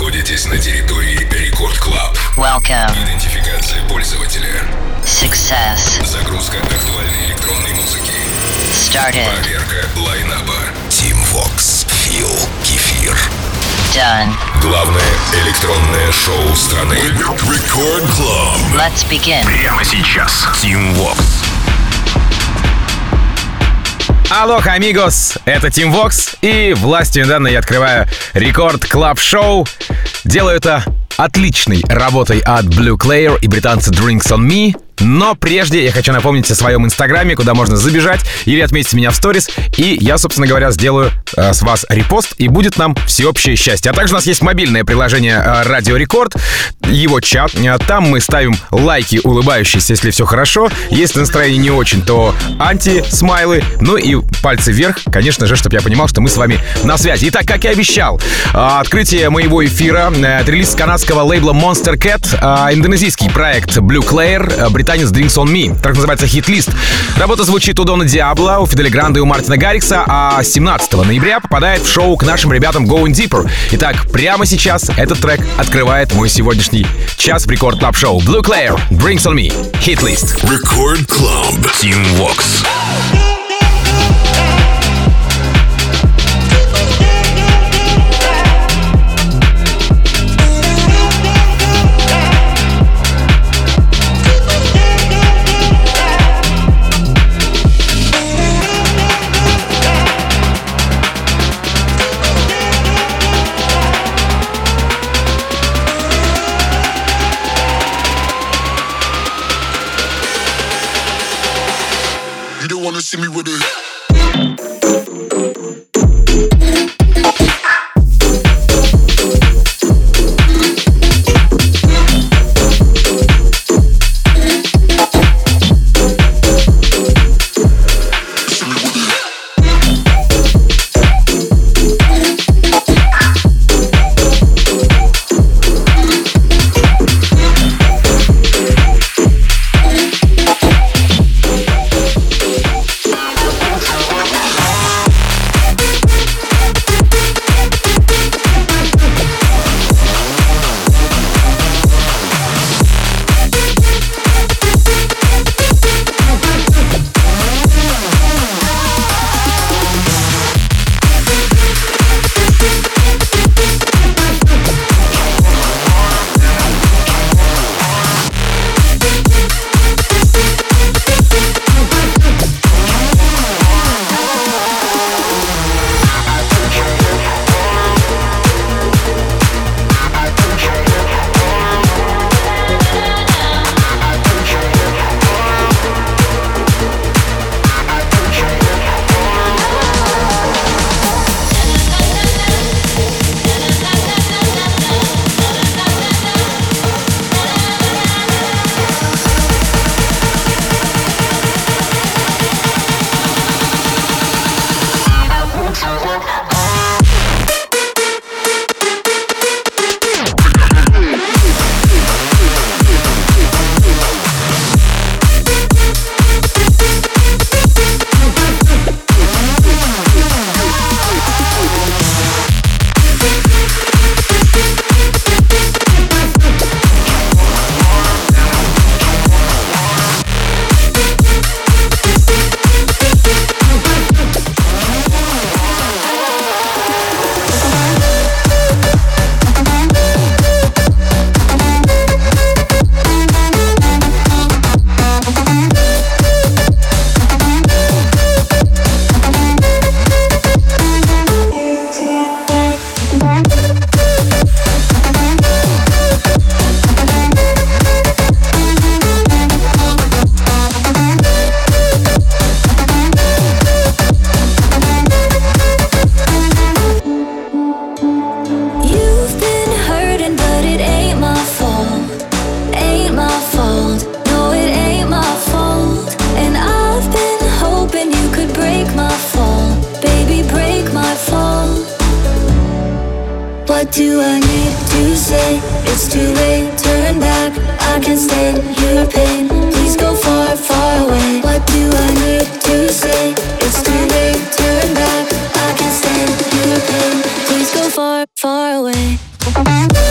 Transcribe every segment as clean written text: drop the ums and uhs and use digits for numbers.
находитесь на территории Рекорд Клаб. Welcome. Идентификация пользователя. Success. Загрузка актуальной электронной музыки. Started. Проверка лайнаба. Team Vox. Фил. Кефир. Done. Главное электронное шоу страны. Рекорд Клаб. Let's begin. Прямо сейчас. Team Vox. Алоха, амигос! Это Team Vox, и властью недавно я открываю Рекорд Клаб Шоу. Делаю это отличной работой от Blue Clair и британца Drinks on Me. Но прежде я хочу напомнить о своем инстаграме, куда можно забежать или отметить меня в сторис. И я, собственно говоря, сделаю с вас репост, и будет нам всеобщее счастье. А также у нас есть мобильное приложение Радио Рекорд, его чат. Там мы ставим лайки, улыбающиеся, если все хорошо. Если настроение не очень, то анти-смайлы. Ну и пальцы вверх, конечно же, чтобы я понимал, что мы с вами на связи. Итак, как и обещал, открытие моего эфира, релиз канадского лейбла Monster Cat, индонезийский проект Blue Clair, британец Drinks on Me. Так называется хит-лист. Работа звучит у Дона Диабло, у Фиделя Гранда и у Мартина Гаррикса, а 17 ноября попадает в шоу к нашим ребятам Going Deeper. Итак, прямо сейчас этот трек открывает мой сегодняшний час в Рекорд Клаб Шоу. Blue Clair, Drinks on Me, хит-лист. Рекорд Клаб. Team Vox. See me with it. What do I need to say? It's too late, turn back. I can't stand your pain. Please go far, far away. What do I need to say? It's too late, turn back. I can't stand your pain. Please go far, far away.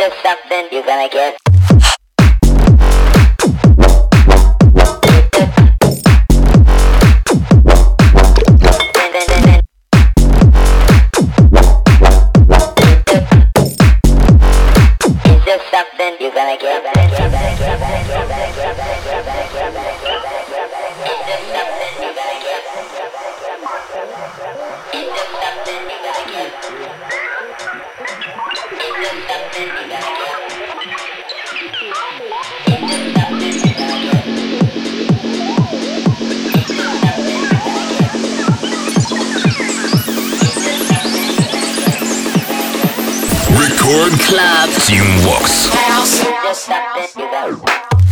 just something you're gonna get. It's just something you're gonna get. Record Club. Team Vox. Just something you got.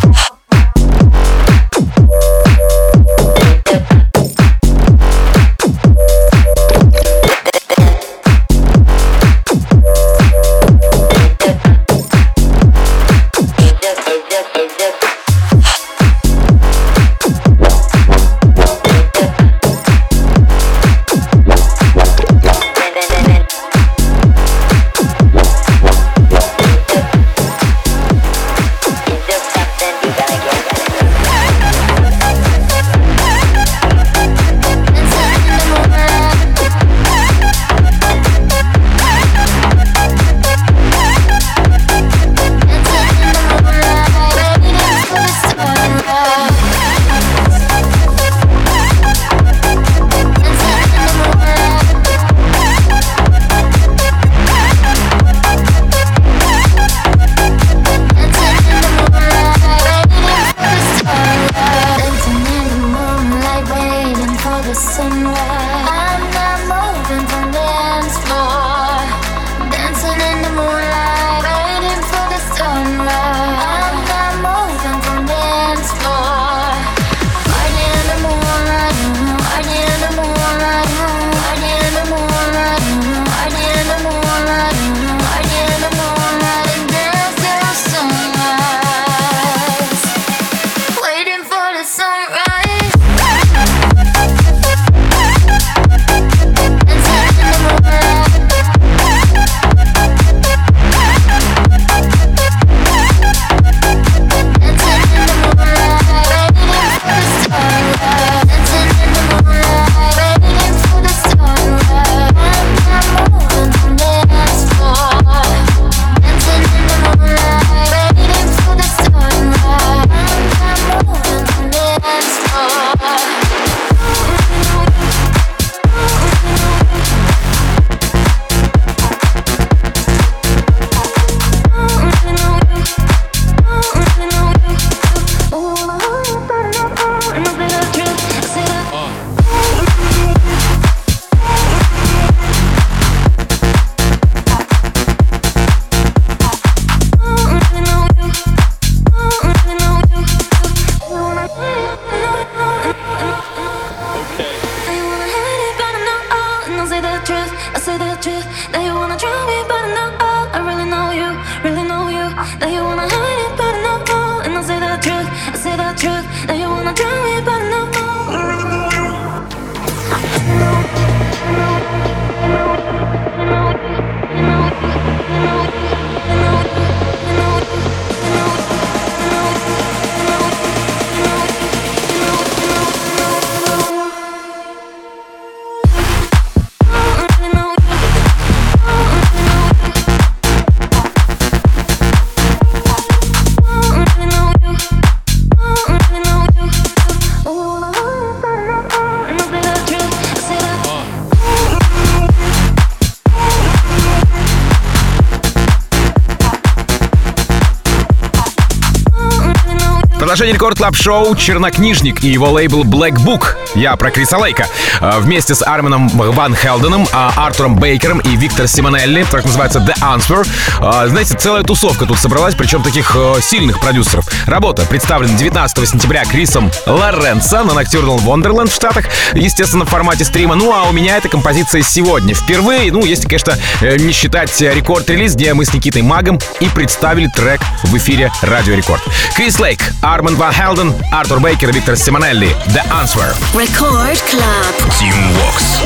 Продолжение Рекорд Клаб Шоу «Чернокнижник» и его лейбл Black Book. Я про Криса Лейка. Вместе с Армином Ван Хелденом, Артуром Бейкером и Виктор Симонелли. Трек называется The Answer. Знаете, целая тусовка тут собралась, причем таких сильных продюсеров. Работа представлена 19 сентября Крисом Лоренцо на Nocturnal Wonderland в Штатах. Естественно, в формате стрима. Ну, а у меня эта композиция сегодня. Впервые, ну, если, конечно, не считать рекорд-релиз, где мы с Никитой Магом и представили трек в эфире Радио Рекорд. Крис Лейк, Армин Ван Хелден, Артур Бейкер и Виктор Симонелли. The Answer. Record Club. Team Vox.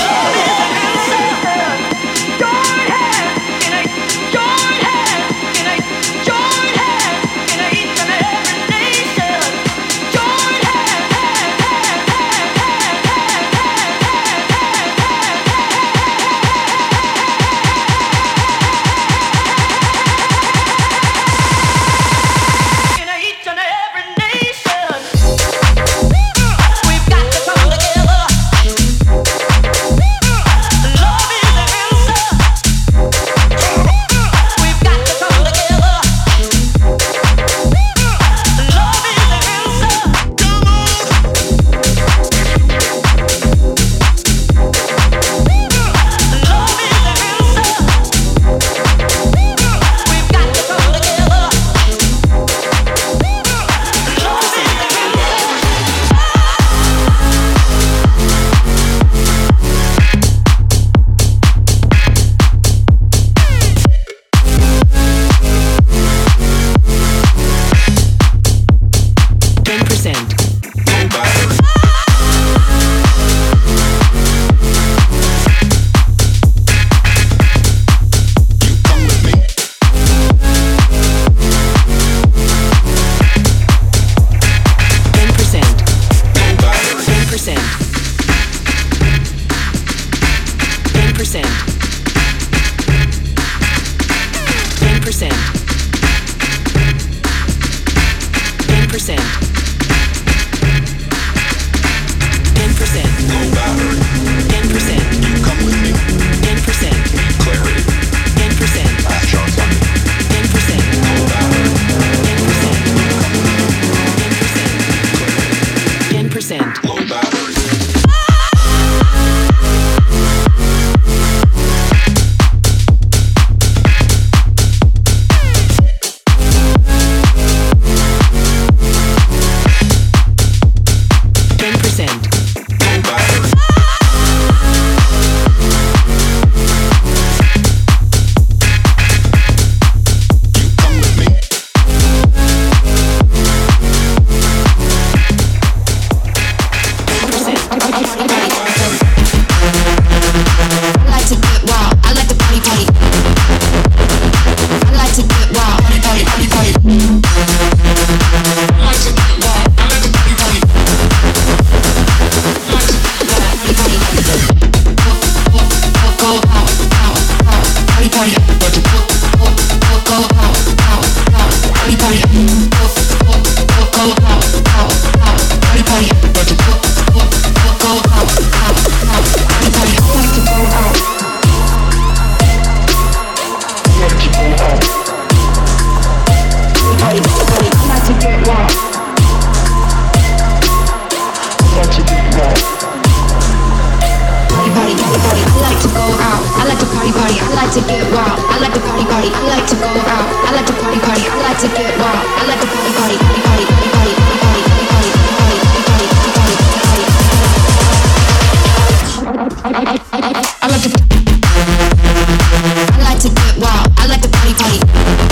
to get wild. I like to party, party, party, party, party, party, party, I like to get wild. I like to party, party.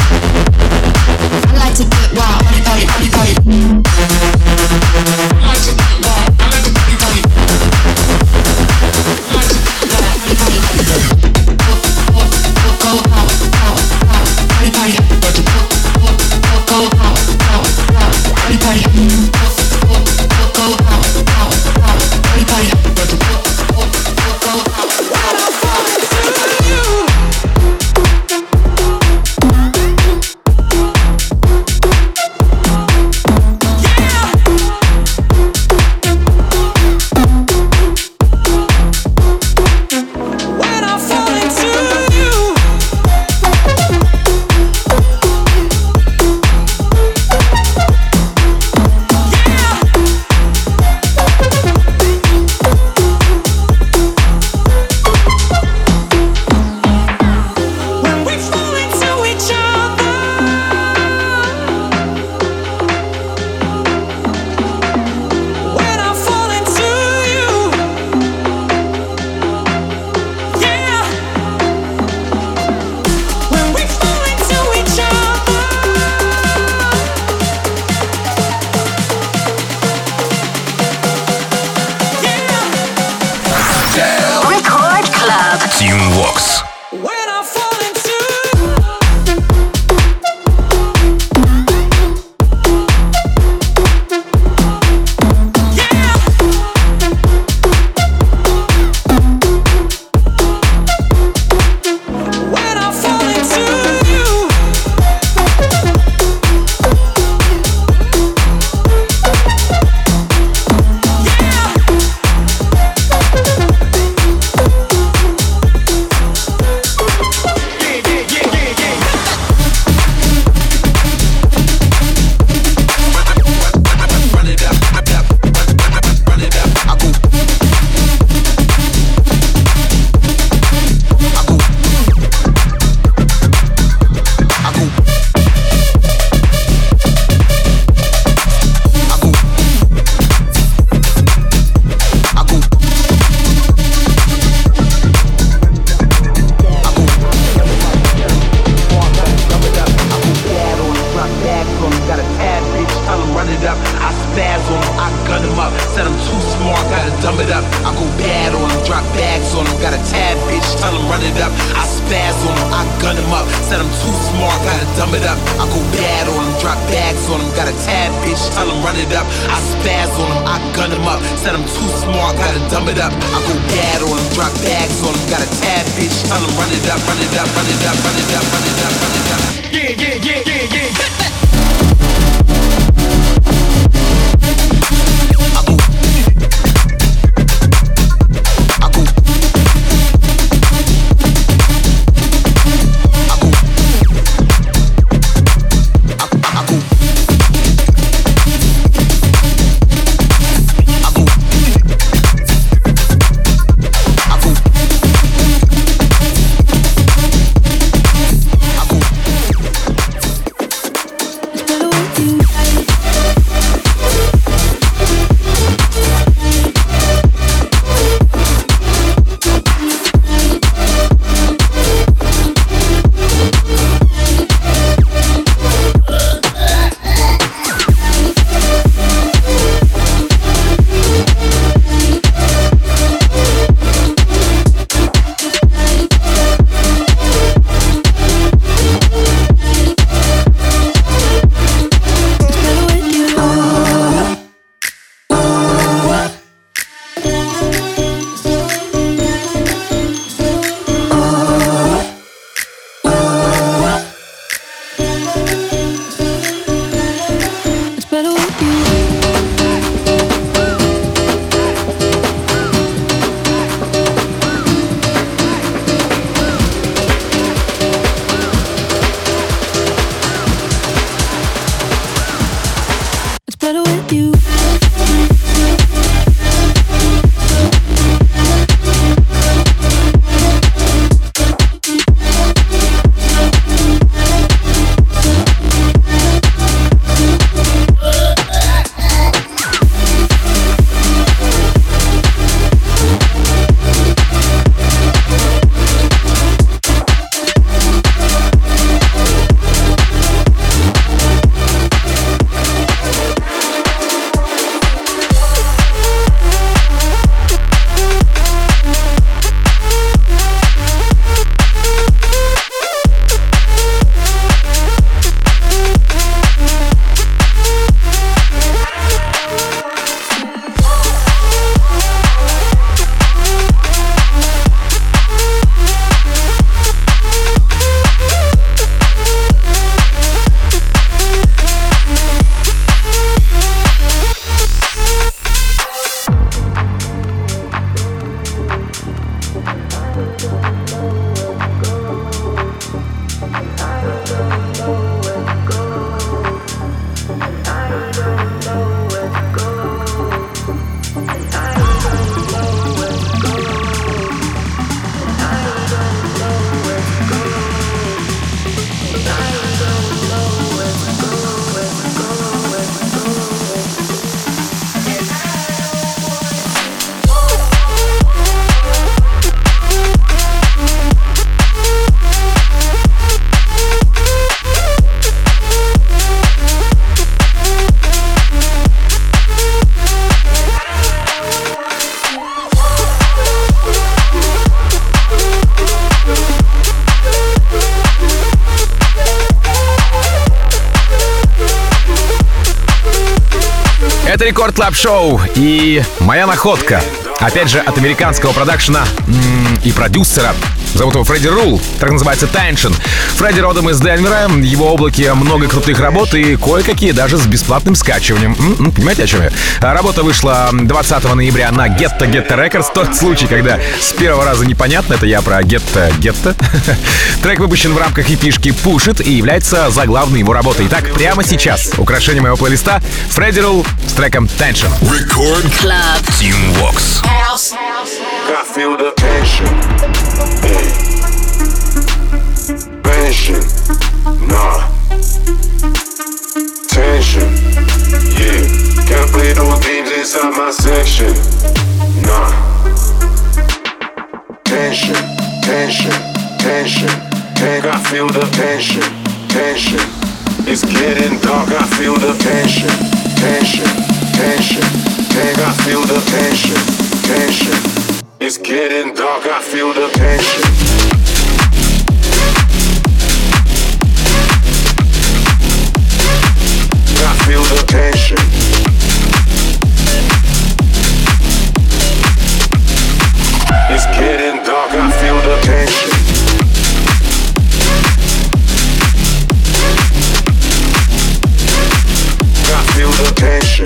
I like to get wild. Party, party, party, party. I like to get wild. I like to party, party. I like to get wild. Party, party. Go out, out, out. Party, party. Go out, out, out. Party, party. Go out, out, out. Party, party. Go out. Это Рекорд Клаб Шоу и моя находка. Опять же, от американского продакшена и продюсера. Зовут его Фредди Рул, так называется Tension. Фредди родом из Денвера, в его облаке много крутых работ и кое-какие даже с бесплатным скачиванием. Понимаете, о чем я? Работа вышла 20 ноября на Getta Records. Тот случай, когда с первого раза непонятно, это я про Getta. Трек выпущен в рамках EP-шки Push It и является заглавной его работой. Итак, прямо сейчас украшение моего плейлиста Фредди Рул с треком Tension. Record Club. Team Vox. I feel the tension. Tension, nah. Tension, yeah. Can't play those games inside my section, nah. Tension, tension, tension. I feel the tension, tension. It's getting dark, I feel the tension, tension, tension. I feel the tension, tension. It's getting dark, I feel the tension. I feel the tension. It's getting dark, I feel the tension. I feel the tension.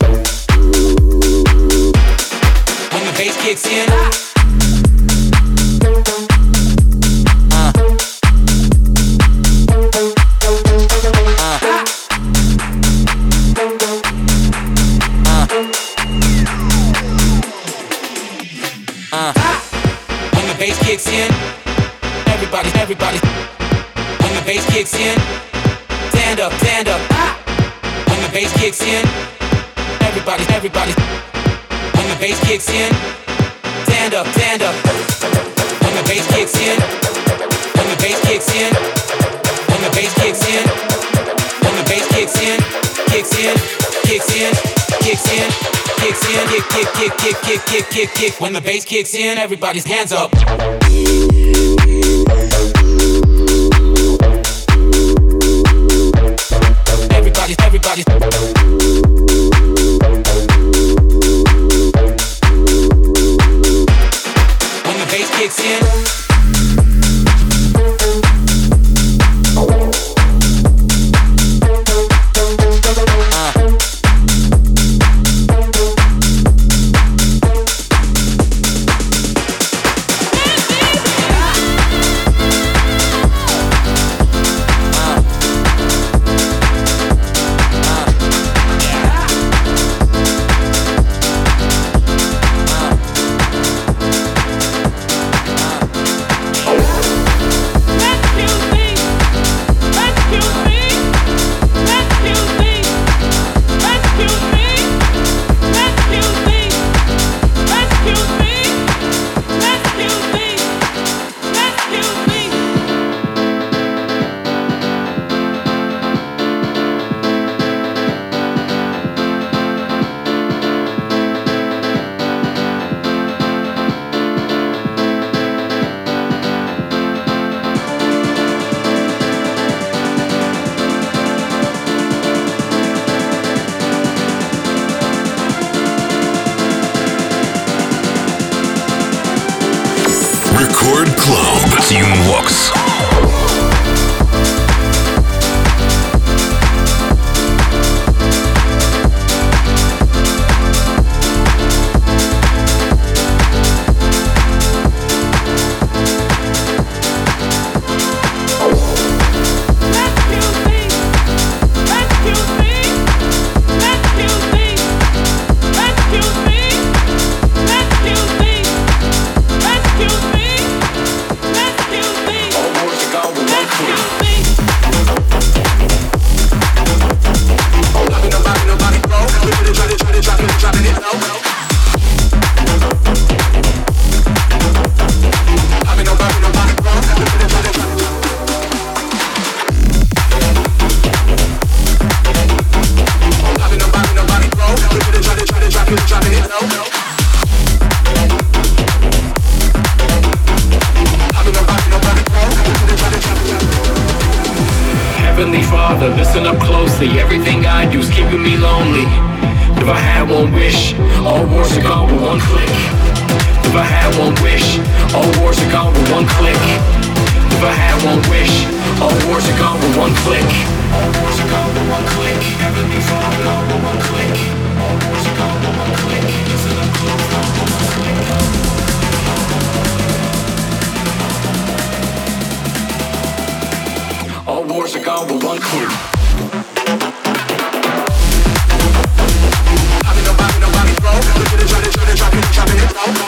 kicks in. kicks in, everybody. When the bass kicks in, stand up. When the bass kicks in, everybody. When the bass kicks in, stand up. When the bass kicks in, when the bass kicks in, when the bass kicks in, when the bass kicks in, kick. When the bass kicks in, everybody's hands up. Everybody. When the bass kicks in. Record Club. Team Vox. Heavenly Father, listen up closely. Everything I do is keeping me lonely. If I had one wish, all wars are gone with one click. If I had one wish, all wars are gone with one click. If I had one wish, all wars are gone with one click. All wars are gone with one click. Heavenly Father, gone with one click. All wars are gone with one click. Listen up close, gone with one click. All wars are gone with one click. Nobody broke. Look at it, dropping it low.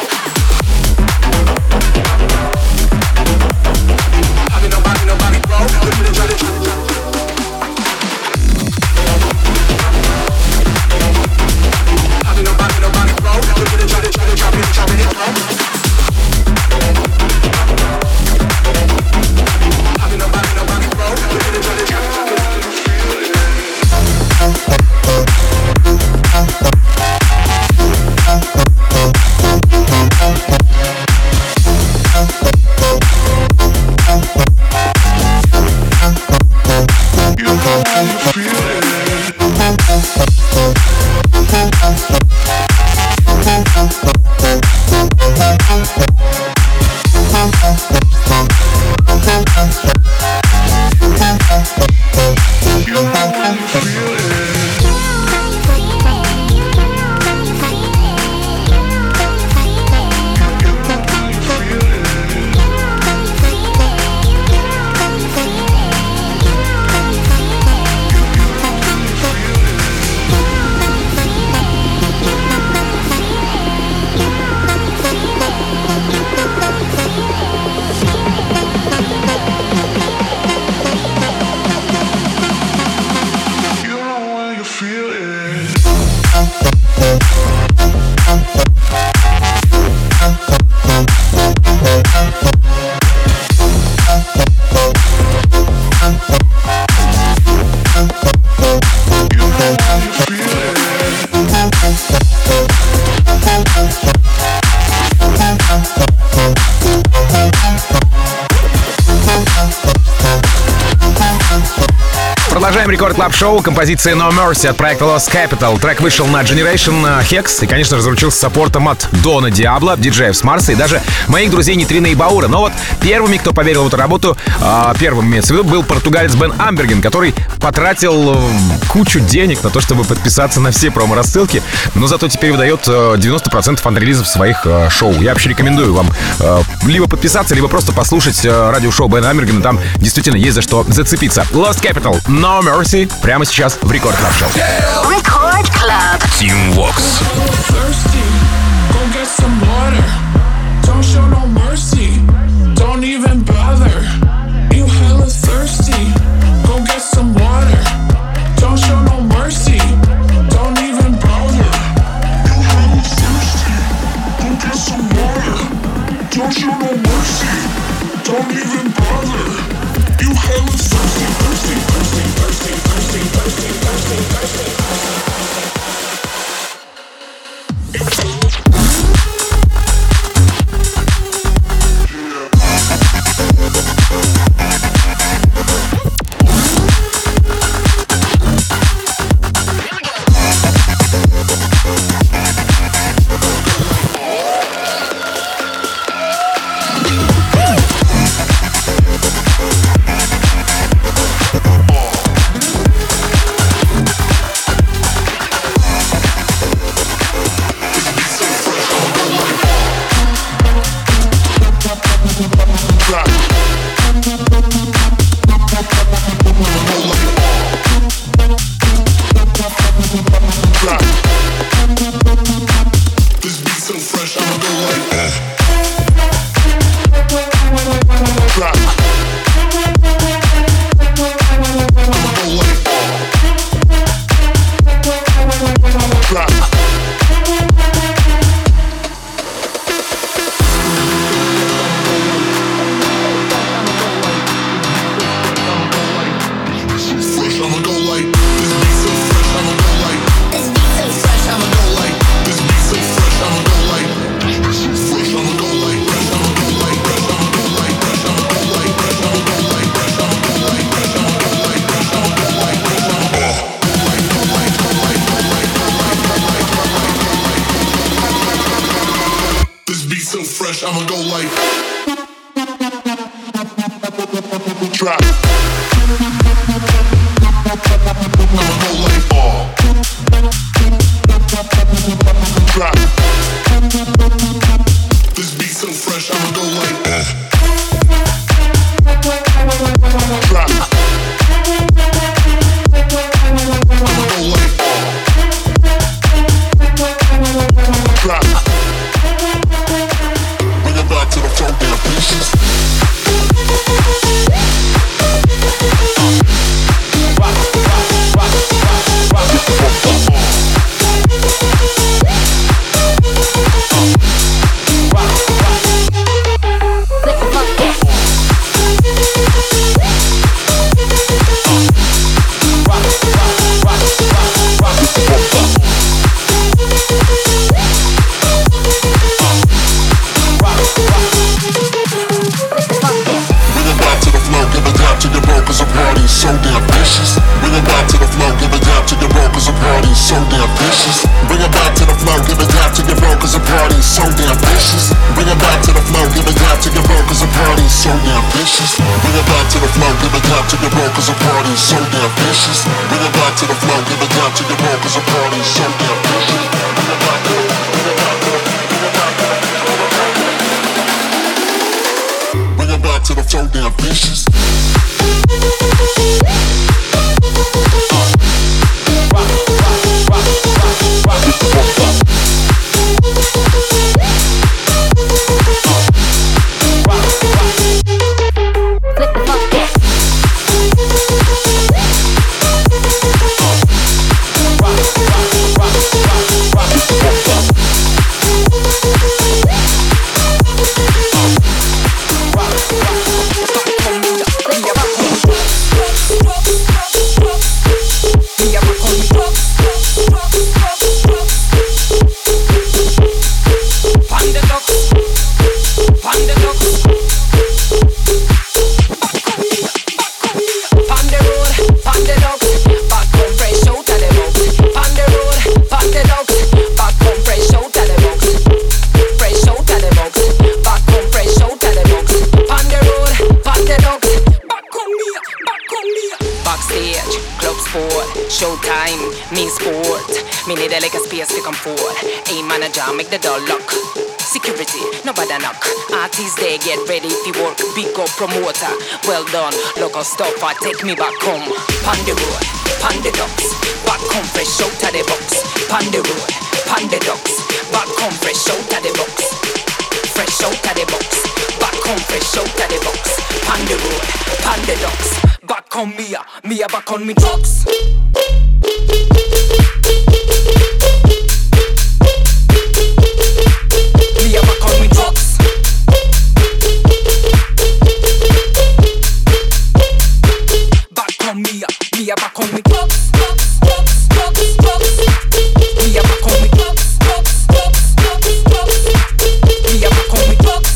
Nobody broke. Look at it, dropping it low. Nobody broke. Look at it, dropping it low. Nobody broke. Look at it, dropping it low. Продолжаем Рекорд Клаб Шоу. Композиция No Mercy от проекта Lost Capital. Трек вышел на Generation Hex и, конечно же, заручился саппортом от Дона Диабло, диджеев с Марса и даже моих друзей Нитрина и Баура. Но вот первыми, кто поверил в эту работу, первым имеется в виду, был португалец Бен Амберген, который потратил кучу денег на то, чтобы подписаться на все промо-рассылки, но зато теперь выдает 90% анрелизов своих шоу. Я вообще рекомендую вам либо подписаться, либо просто послушать радиошоу Бена Амбергена. Там действительно есть за что зацепиться. Lost Capital, No Mercy, прямо сейчас в Рекорд Клаб Шоу. Record Club. Team Vox. Thirsty, go get some water. Don't show no mercy. Don't even bother. You hella thirsty. Go get some water. Don't show no mercy. Don't even bother. You hella thirsty. Go get some water. Don't show no mercy. Don't even bother. You hella thirsty, thirsty, thirsty, thirsty, thirsty, thirsty, thirsty, thirsty. and forth. A manager, make the door lock. Security, nobody knock. Artists, they get ready to work. Big up promoter, well done. Local stopper, take me back home. Pon the road, pon the docks. Back home fresh out of the box. Pon the road, pon the docks. Back home fresh out of the box. Fresh out of the box. Back home fresh out of the box. Pon the road, pon the docks. Back on Mia back on me drugs. Mia back on me drugs. Back on Mia back on me drugs. Mia back on me drugs. Mia back on me drugs.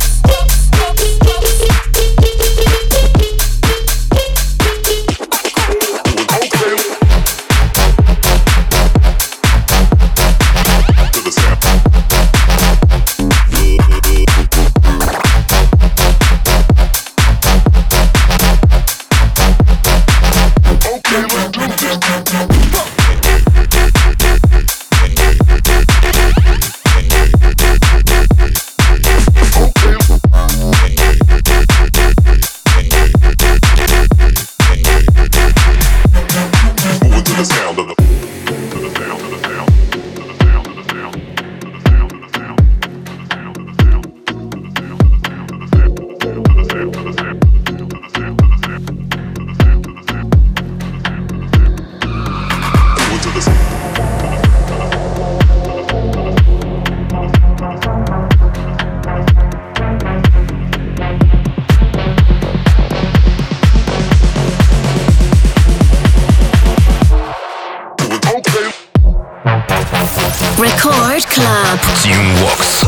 Record Club. Team Vox.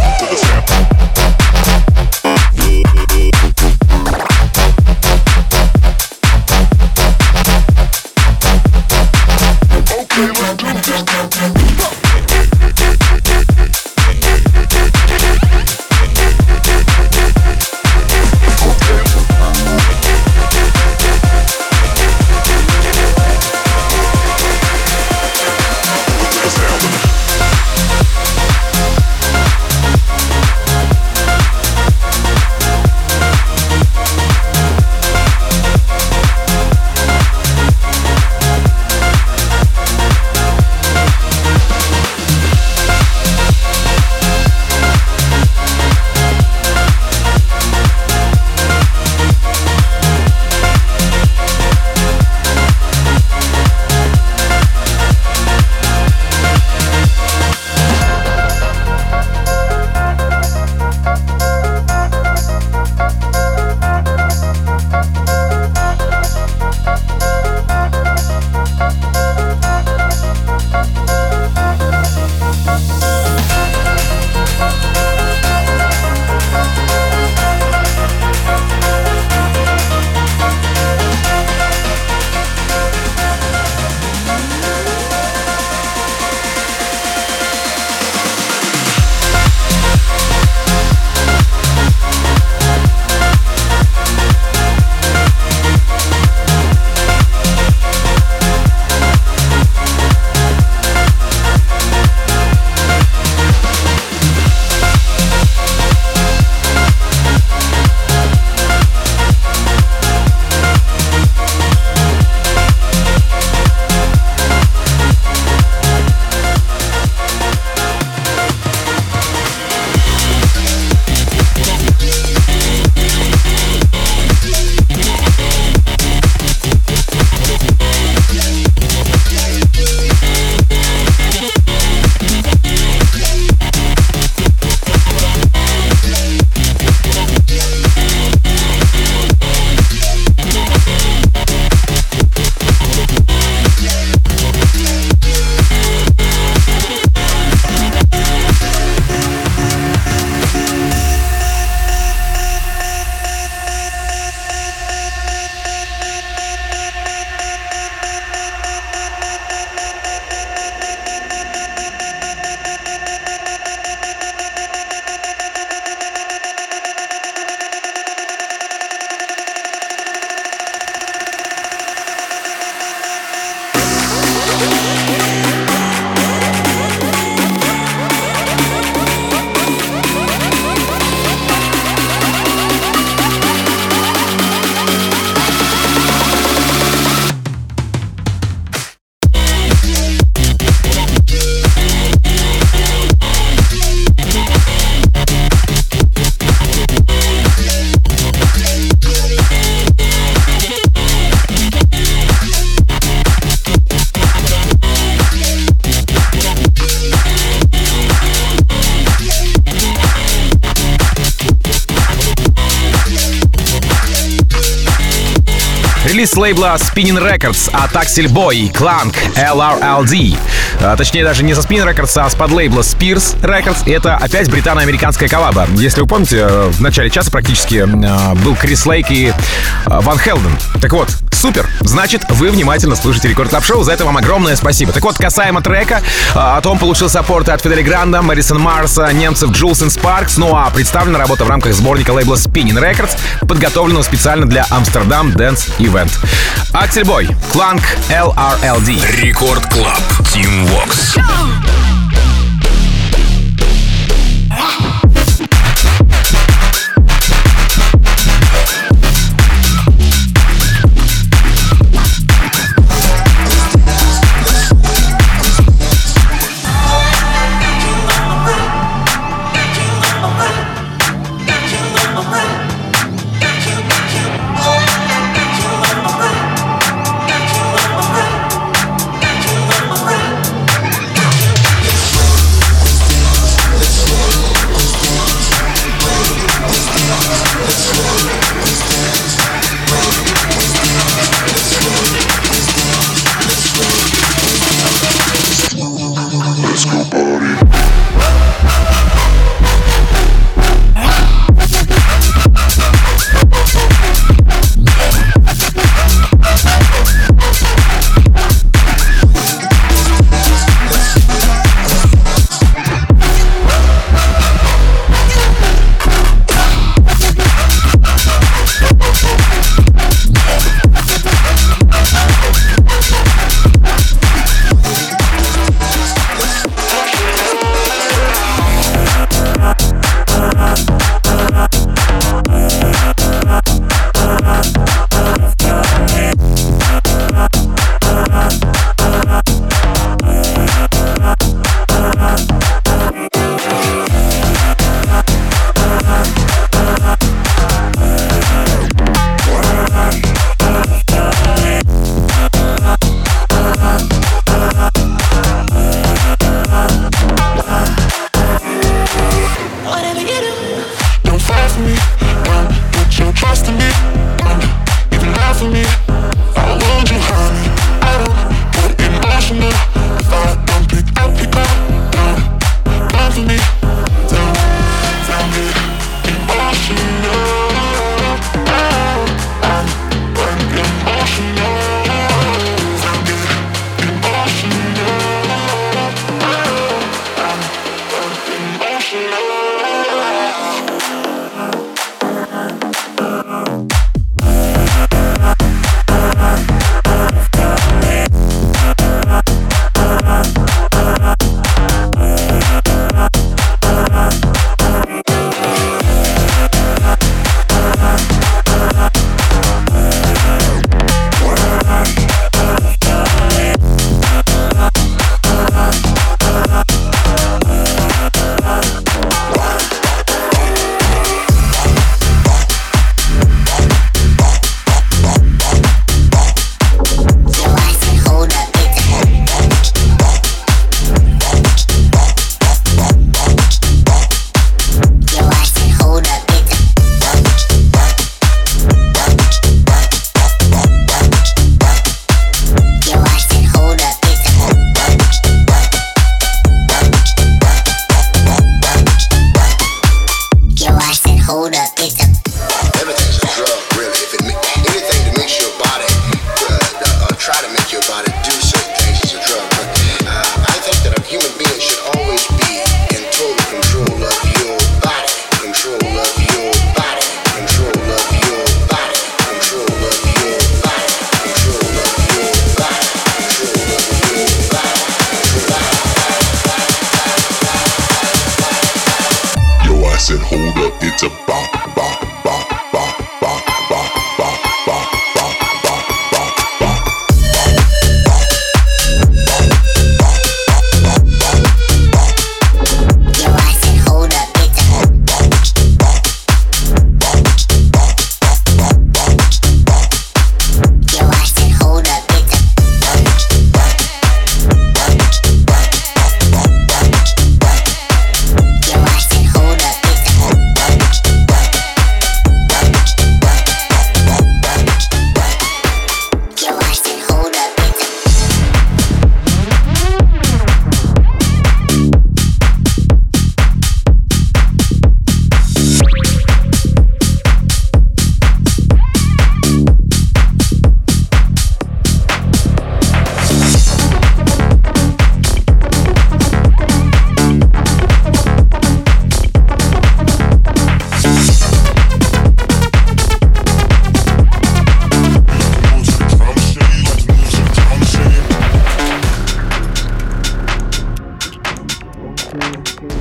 релиз лейбла Spinning Records от Axel Boy и Clank LRLD. Точнее, даже не со Spinning Records, а с подлейбла Spears Records. И это опять британо-американская коллаба. Если вы помните, в начале часа практически был Крис Лейк и Ван Хелден. Так вот, супер! Значит, вы внимательно слушаете Рекорд Клаб Шоу. За это вам огромное спасибо. Так вот, касаемо трека, о том получил саппорт от Фидели Гранда, Мэрисон Марса, немцев Jules and Sparks. Ну а представлена работа в рамках сборника лейбла Spinning Records, подготовленного специально для Amsterdam Dance Event. Axel Boy, Clank LRLD. Рекорд Клаб, Team Vox.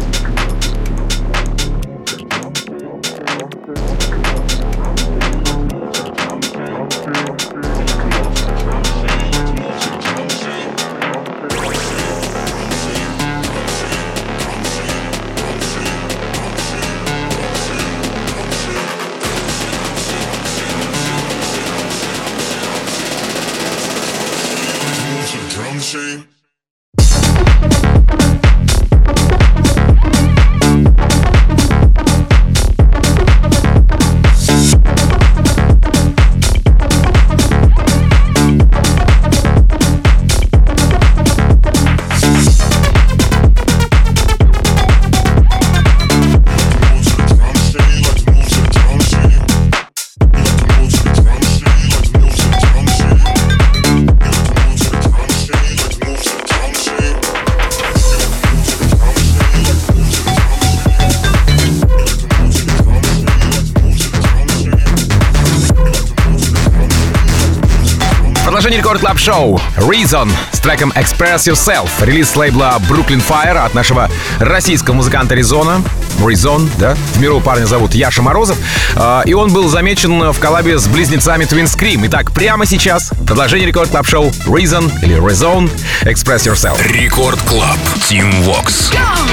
Продолжение Рекорд Клаб Шоу Reason с треком Express Yourself. Релиз с лейбла Brooklyn Fire от нашего российского музыканта Резона. Резон, да? В миру парня зовут Яша Морозов. И он был замечен в коллабе с близнецами Twin Scream. Итак, прямо сейчас продолжение Рекорд Клаб Шоу Reason или Rezone Express Yourself. Рекорд Клаб. Team Vox.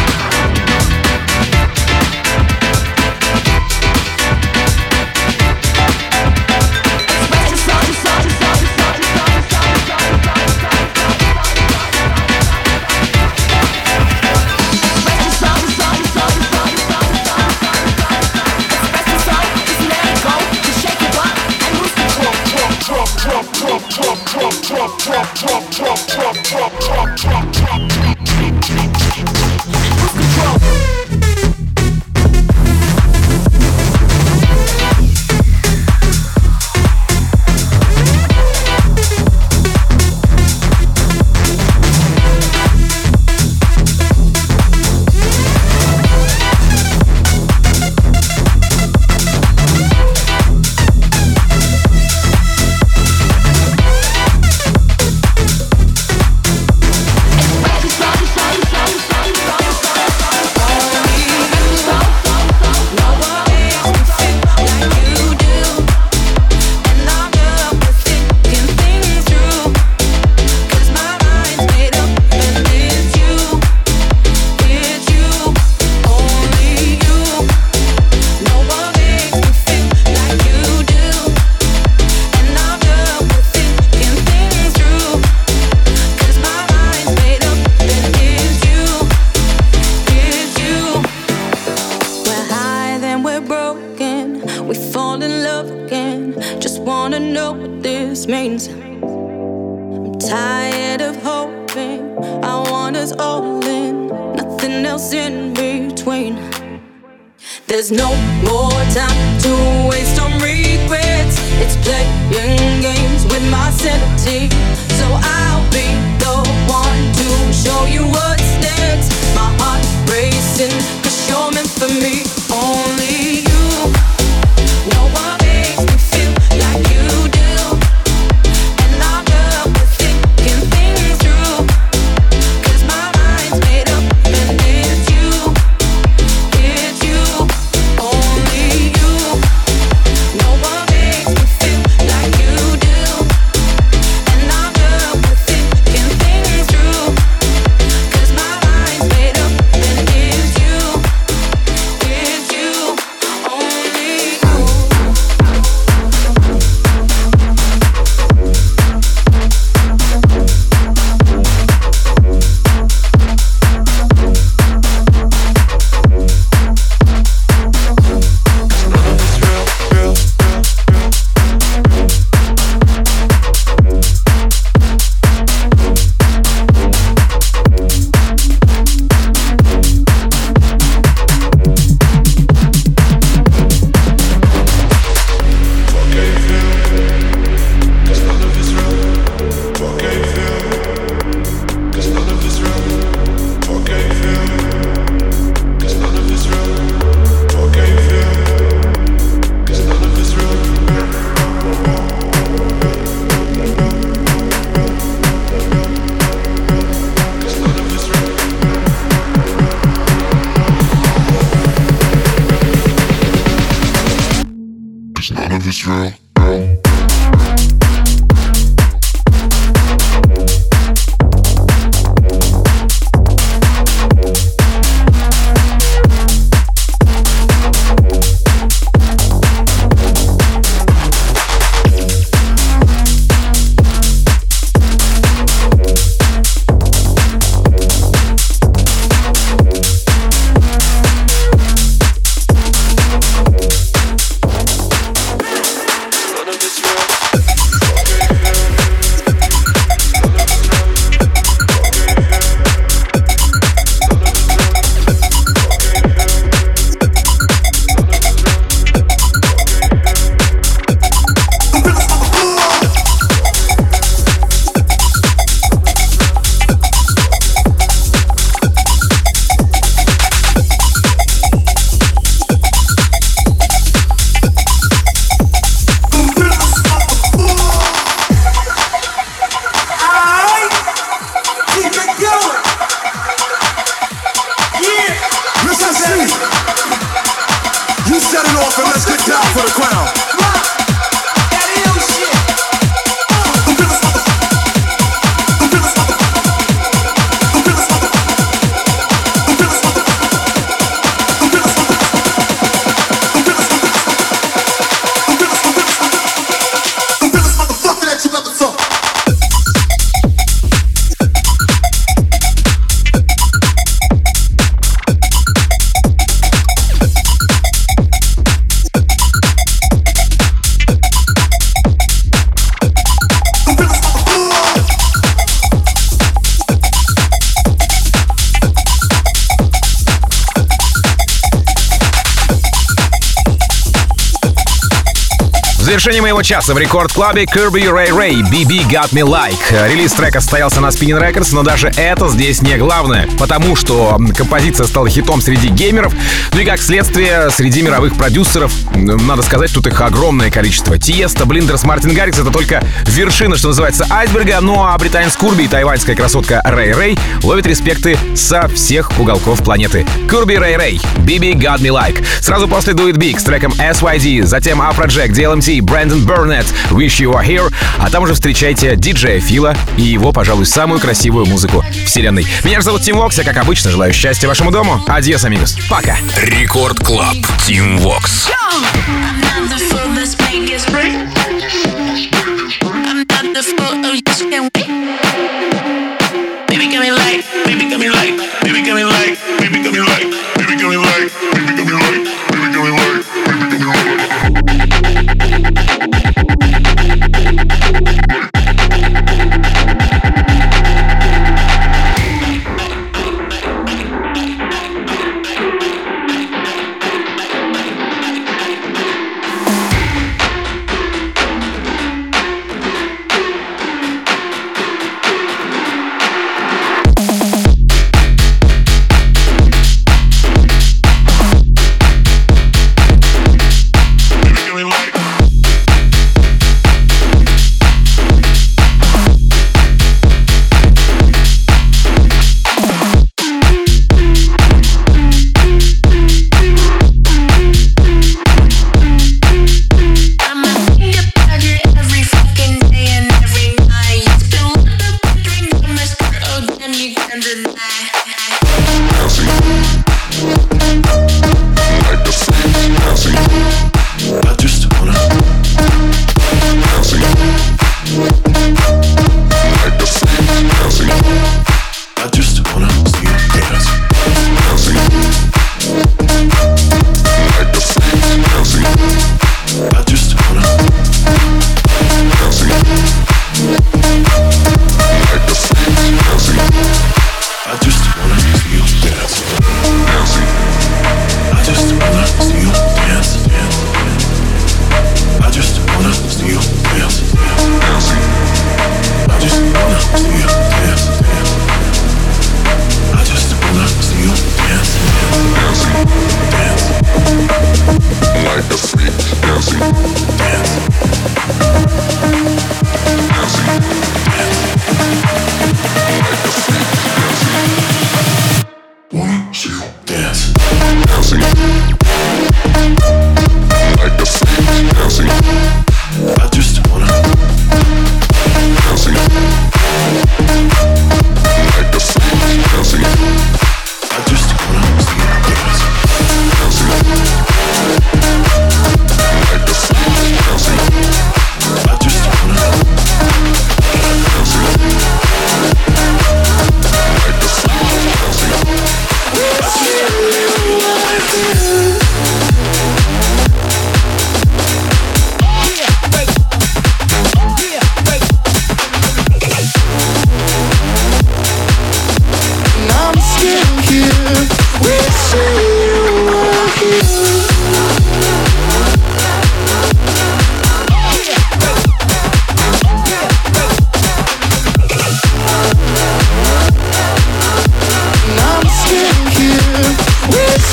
There's no more time to waste on regrets. It's playing games with my sanity. So I'll be the one to show you what's next. My heart racing, 'cause you're meant for me. Only you. No one makes me feel like you do. And I'm up with thinking things through. 'Cause my mind's made up and it's you. It's you. Only you. No one makes me feel like you do. And I'm up with thinking things through. 'Cause my mind's made up and it's you. It's you. 'cause none of it's real. В завершении моего часа в рекорд-клабе Kirby Ray Ray BB Got Me Like. Релиз трека состоялся на Spinnin' Records, но даже это здесь не главное, потому что композиция стала хитом среди геймеров, ну и как следствие среди мировых продюсеров. Надо сказать, тут их огромное количество. Тиеста, Блиндерс, Мартин Гаррикс — это только вершина, что называется, айсберга, ну а британец Курби и тайваньская красотка Рэй Рэй ловят респекты со всех уголков планеты. Kirby Ray Ray BB Got Me Like. Сразу после Do It Big с треком SYD, затем Afrojack, DLMT, Брэндон Бернетт, Wish You Were Here, а там уже встречайте диджея Фила и его, пожалуй, самую красивую музыку вселенной. Меня же зовут Тим Вокс, я, как обычно, желаю счастья вашему дому. Адьос, амигос. Пока. Рекорд Клаб. Тим Вокс.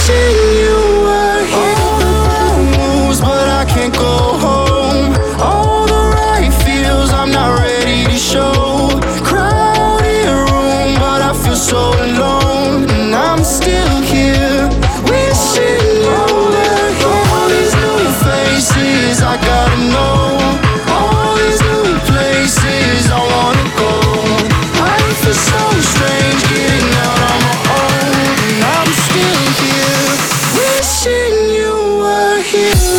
wishing you were here. All the wrong moves, but I can't go home. All the right feels, I'm not ready to show. Crowded room, but I feel so alone. And I'm still here, wishing you were here. All these new faces, I gotta know. All these new places, I wanna go. I feel so strange getting out on my own. And I'm still here, wishing you were here.